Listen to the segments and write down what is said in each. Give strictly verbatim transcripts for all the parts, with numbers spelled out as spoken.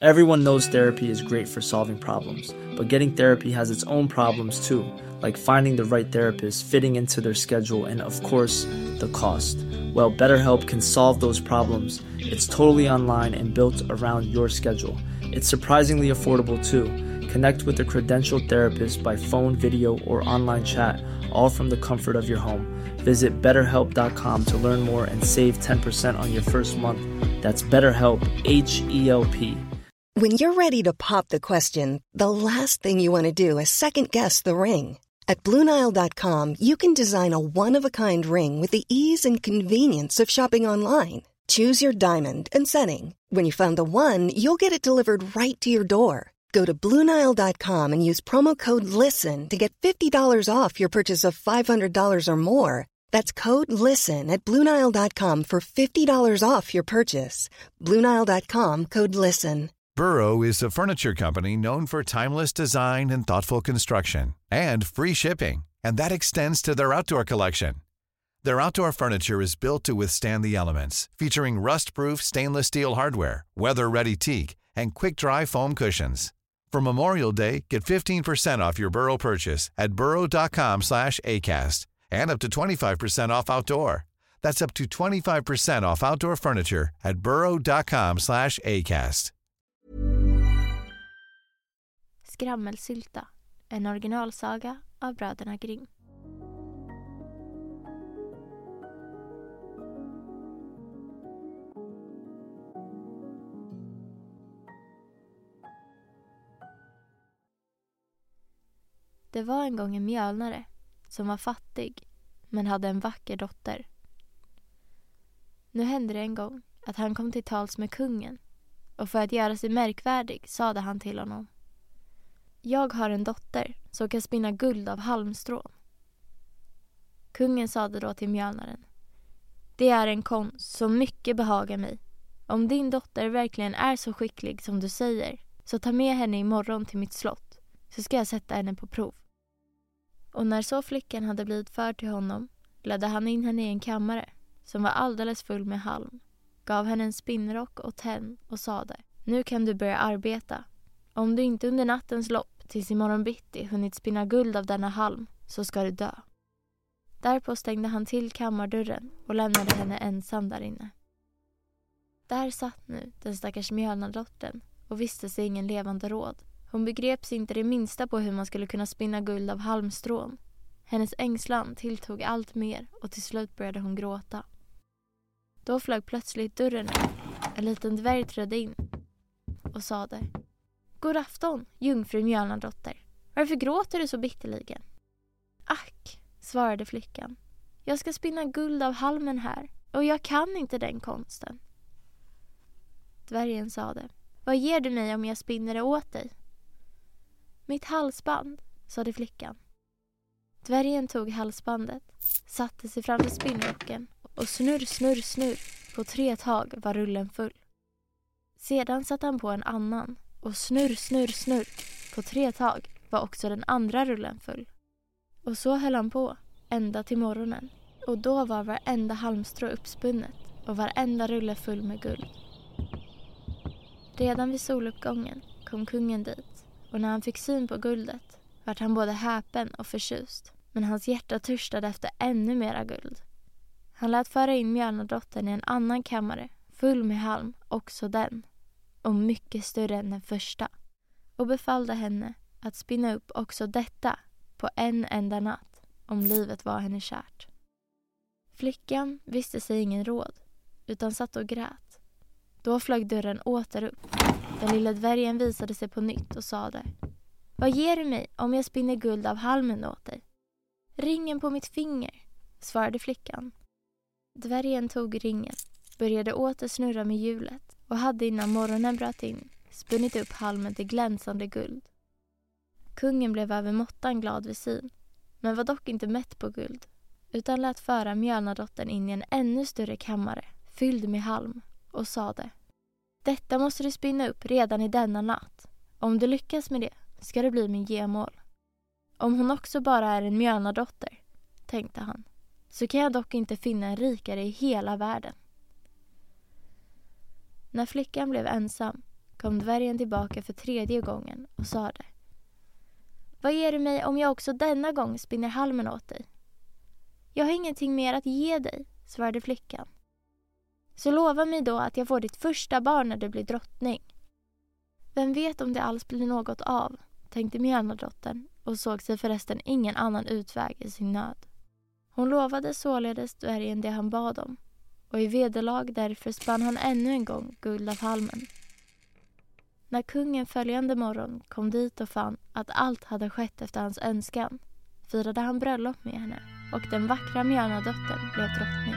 Everyone knows therapy is great for solving problems, but getting therapy has its own problems too, like finding the right therapist, fitting into their schedule, and of course, the cost. Well, BetterHelp can solve those problems. It's totally online and built around your schedule. It's surprisingly affordable too. Connect with a credentialed therapist by phone, video, or online chat, all from the comfort of your home. Visit better help dot com to learn more and save ten percent on your first month. That's BetterHelp, H E L P. When you're ready to pop the question, the last thing you want to do is second-guess the ring. At Blue Nile dot com, you can design a one-of-a-kind ring with the ease and convenience of shopping online. Choose your diamond and setting. When you find the one, you'll get it delivered right to your door. Go to Blue Nile dot com and use promo code LISTEN to get fifty dollars off your purchase of five hundred dollars or more. That's code LISTEN at Blue Nile dot com for fifty dollars off your purchase. Blue Nile dot com, code LISTEN. Burrow is a furniture company known for timeless design and thoughtful construction, and free shipping, and that extends to their outdoor collection. Their outdoor furniture is built to withstand the elements, featuring rust-proof stainless steel hardware, weather-ready teak, and quick-dry foam cushions. For Memorial Day, get fifteen percent off your Burrow purchase at burrow dot com slash acast, and up to twenty-five percent off outdoor. That's up to twenty-five percent off outdoor furniture at burrow dot com slash acast. Skrammelsylta, en originalsaga av bröderna Grimm. Det var en gång en mjölnare som var fattig men hade en vacker dotter. Nu hände det en gång att han kom till tals med kungen, och för att göra sig märkvärdig sade han till honom: Jag har en dotter som kan spinna guld av halmstrån. Kungen sade då till mjölnaren: Det är en konst som mycket behagar mig. Om din dotter verkligen är så skicklig som du säger, så ta med henne imorgon till mitt slott, så ska jag sätta henne på prov. Och när så flickan hade blivit förd till honom, ledde han in henne i en kammare som var alldeles full med halm, gav henne en spinnrock och tenn och sade: Nu kan du börja arbeta. Om du inte under nattens lopp tills imorgon bitti hunnit spinna guld av denna halm, så ska du dö. Därpå stängde han till kammardörren och lämnade henne ensam där inne. Där satt nu den stackars mjölnardottern och visste sig ingen levande råd. Hon begreps inte det minsta på hur man skulle kunna spinna guld av halmstrån. Hennes ängslan tilltog allt mer och till slut började hon gråta. Då flög plötsligt dörren upp. En liten dvärg trädde in och sade: God afton, jungfru mjölnardotter. Varför gråter du så bitterligen? Ack, svarade flickan. Jag ska spinna guld av halmen här, och jag kan inte den konsten. Dvärgen sade: Vad ger du mig om jag spinner det åt dig? Mitt halsband, sade flickan. Dvärgen tog halsbandet, satte sig framför spinnrocken och snurr, snurr, snurr. På tre tag var rullen full. Sedan satte han på en annan och snurr, snurr, snurr. På tre tag var också den andra rullen full. Och så höll han på ända till morgonen, och då var varenda halmstrå uppspunnet och varenda rulle full med guld. Redan vid soluppgången kom kungen dit, och när han fick syn på guldet vart han både häpen och förtjust, men hans hjärta törstade efter ännu mera guld. Han lät föra in mjölnardottern i en annan kammare, full med halm, också den, och mycket större än den första, och befallde henne att spinna upp också detta på en enda natt, om livet var henne kärt. Flickan visste sig ingen råd, utan satt och grät. Då flög dörren åter upp. Den lilla dvärgen visade sig på nytt och sade: Vad ger du mig om jag spinner guld av halmen åt dig? Ringen på mitt finger, svarade flickan. Dvärgen tog ringen, började åter snurra med hjulet och hade innan morgonen bröt in spunnit upp halmen till glänsande guld. Kungen blev över måttan glad vid syn, men var dock inte mätt på guld, utan lät föra mjölnardottern in i en ännu större kammare, fylld med halm, och sade: Detta måste du spinna upp redan i denna natt. Om du lyckas med det ska det bli min gemål. Om hon också bara är en mjölnardotter, tänkte han, så kan jag dock inte finna en rikare i hela världen. När flickan blev ensam kom dvärgen tillbaka för tredje gången och sade: Vad ger du mig om jag också denna gång spinner halmen åt dig? Jag har ingenting mer att ge dig, svarade flickan. Så lova mig då att jag får ditt första barn när du blir drottning. Vem vet om det alls blir något av, tänkte Mjölnardottern och såg sig förresten ingen annan utväg i sin nöd. Hon lovade således dvärgen det han bad om, och i vederlag därför spann han ännu en gång guld av halmen. När kungen följande morgon kom dit och fann att allt hade skett efter hans önskan, firade han bröllop med henne och den vackra Mjölnardottern blev drottning.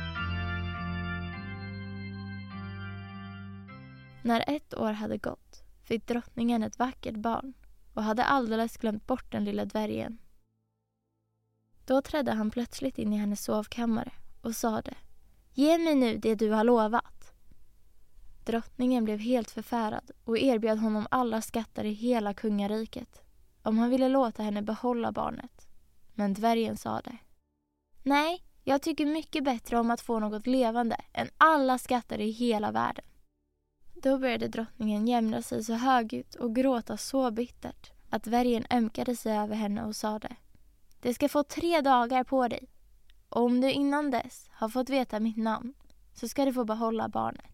När ett år hade gått fick drottningen ett vackert barn och hade alldeles glömt bort den lilla dvärgen. Då trädde han plötsligt in i hennes sovkammare och sade: Ge mig nu det du har lovat. Drottningen blev helt förfärad och erbjöd honom alla skatter i hela kungariket om han ville låta henne behålla barnet. Men dvärgen sade: Nej, jag tycker mycket bättre om att få något levande än alla skatter i hela världen. Då började drottningen jämra sig så högljutt och gråta så bittert att dvärgen ömkade sig över henne och sade: Det ska få tre dagar på dig. Och om du innan dess har fått veta mitt namn så ska du få behålla barnet.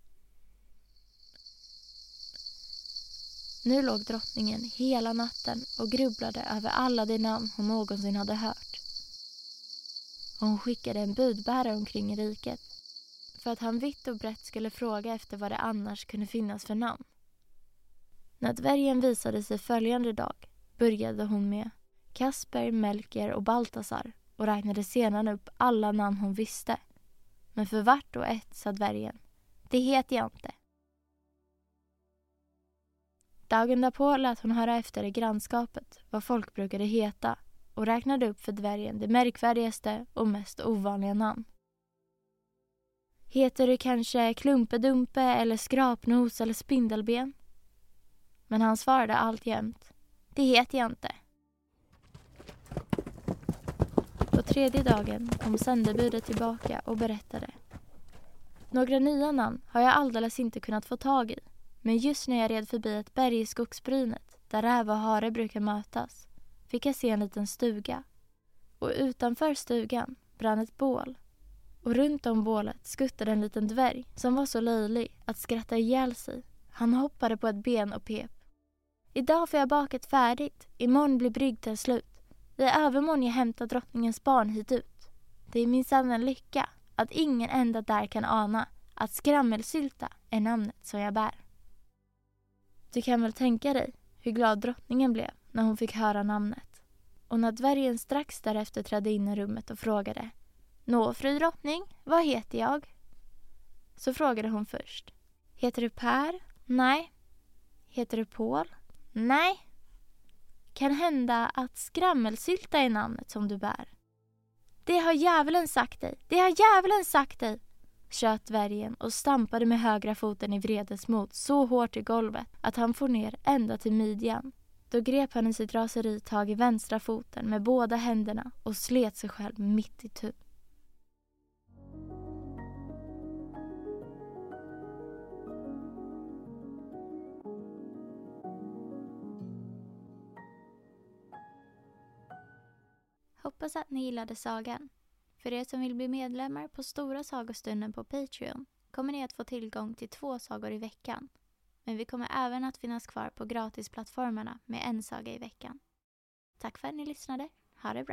Nu låg drottningen hela natten och grubblade över alla de namn hon någonsin hade hört. Och hon skickade en budbärare omkring i riket för att han vitt och brett skulle fråga efter vad det annars kunde finnas för namn. När dvärgen visade sig följande dag började hon med Kasper, Melker och Baltasar och räknade sedan upp alla namn hon visste. Men för vart och ett sa dvärgen: Det heter jag inte. Dagen därpå lät hon höra efter i grannskapet vad folk brukade heta och räknade upp för dvärgen det märkvärdigaste och mest ovanliga namn. Heter du kanske Klumpedumpe eller Skrapnos eller Spindelben? Men han svarade alltjämt: Det heter jag inte. På tredje dagen kom sändebudet tillbaka och berättade: Några nya namn har jag alldeles inte kunnat få tag i, men just när jag red förbi ett berg i skogsbrynet där räv och hare brukar mötas fick jag se en liten stuga. Och utanför stugan brann ett bål. Och runt om bålet skuttade en liten dvärg som var så löjlig att skratta ihjäl sig. Han hoppade på ett ben och pep: Idag får jag bakat färdigt, imorgon blir brygden slut. I övermorgon jag hämtar drottningens barn hit ut. Det är minsann en lycka att ingen enda där kan ana att skrammelsylta är namnet som jag bär. Du kan väl tänka dig hur glad drottningen blev när hon fick höra namnet. Och när dvärgen strax därefter trädde in i rummet och frågade: Nå, fru drottning, vad heter jag? Så frågade hon först: Heter du Per? Nej. Heter du Paul? Nej. Kan hända att skrammelsylta är namnet som du bär. Det har djävulen sagt dig, det har djävulen sagt dig, tjöt dvärgen och stampade med högra foten i vredesmod så hårt i golvet att han får ner ända till midjan. Då grep han i sitt raseri tag i vänstra foten med båda händerna och slet sig själv mitt i tu. Hoppas att ni gillade sagan. För er som vill bli medlemmar på Stora sagostunden på Patreon kommer ni att få tillgång till två sagor i veckan. Men vi kommer även att finnas kvar på gratisplattformarna med en saga i veckan. Tack för att ni lyssnade. Ha det bra.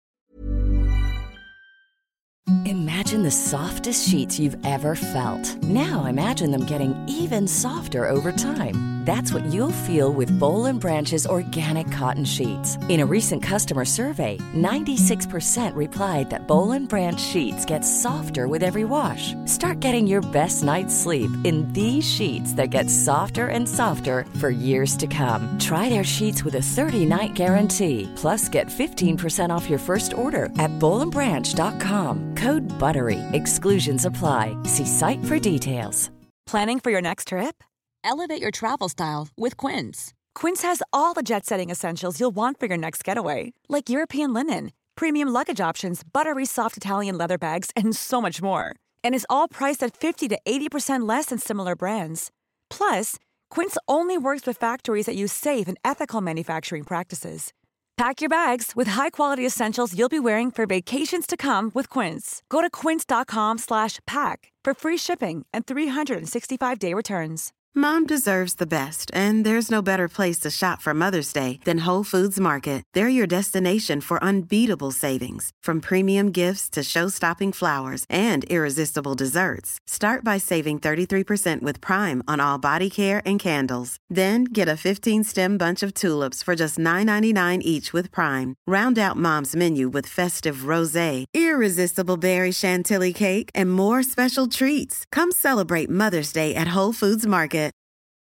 Imagine the softest sheets you've ever felt. Now imagine them getting even softer over time. That's what you'll feel with Boll and Branch's organic cotton sheets. In a recent customer survey, ninety-six percent replied that Boll and Branch sheets get softer with every wash. Start getting your best night's sleep in these sheets that get softer and softer for years to come. Try their sheets with a thirty-night guarantee. Plus, get fifteen percent off your first order at boll and branch dot com. Code BUTTERY. Exclusions apply. See site for details. Planning for your next trip? Elevate your travel style with Quince. Quince has all the jet-setting essentials you'll want for your next getaway, like European linen, premium luggage options, buttery soft Italian leather bags, and so much more. And is all priced at fifty to eighty percent less than similar brands. Plus, Quince only works with factories that use safe and ethical manufacturing practices. Pack your bags with high-quality essentials you'll be wearing for vacations to come with Quince. Go to quince.com slash pack for free shipping and three sixty-five day returns. Mom deserves the best, and there's no better place to shop for Mother's Day than Whole Foods Market. They're your destination for unbeatable savings, from premium gifts to show-stopping flowers and irresistible desserts. Start by saving thirty-three percent with Prime on all body care and candles. Then get a fifteen-stem bunch of tulips for just nine ninety-nine each with Prime. Round out Mom's menu with festive rosé, irresistible berry chantilly cake, and more special treats. Come celebrate Mother's Day at Whole Foods Market.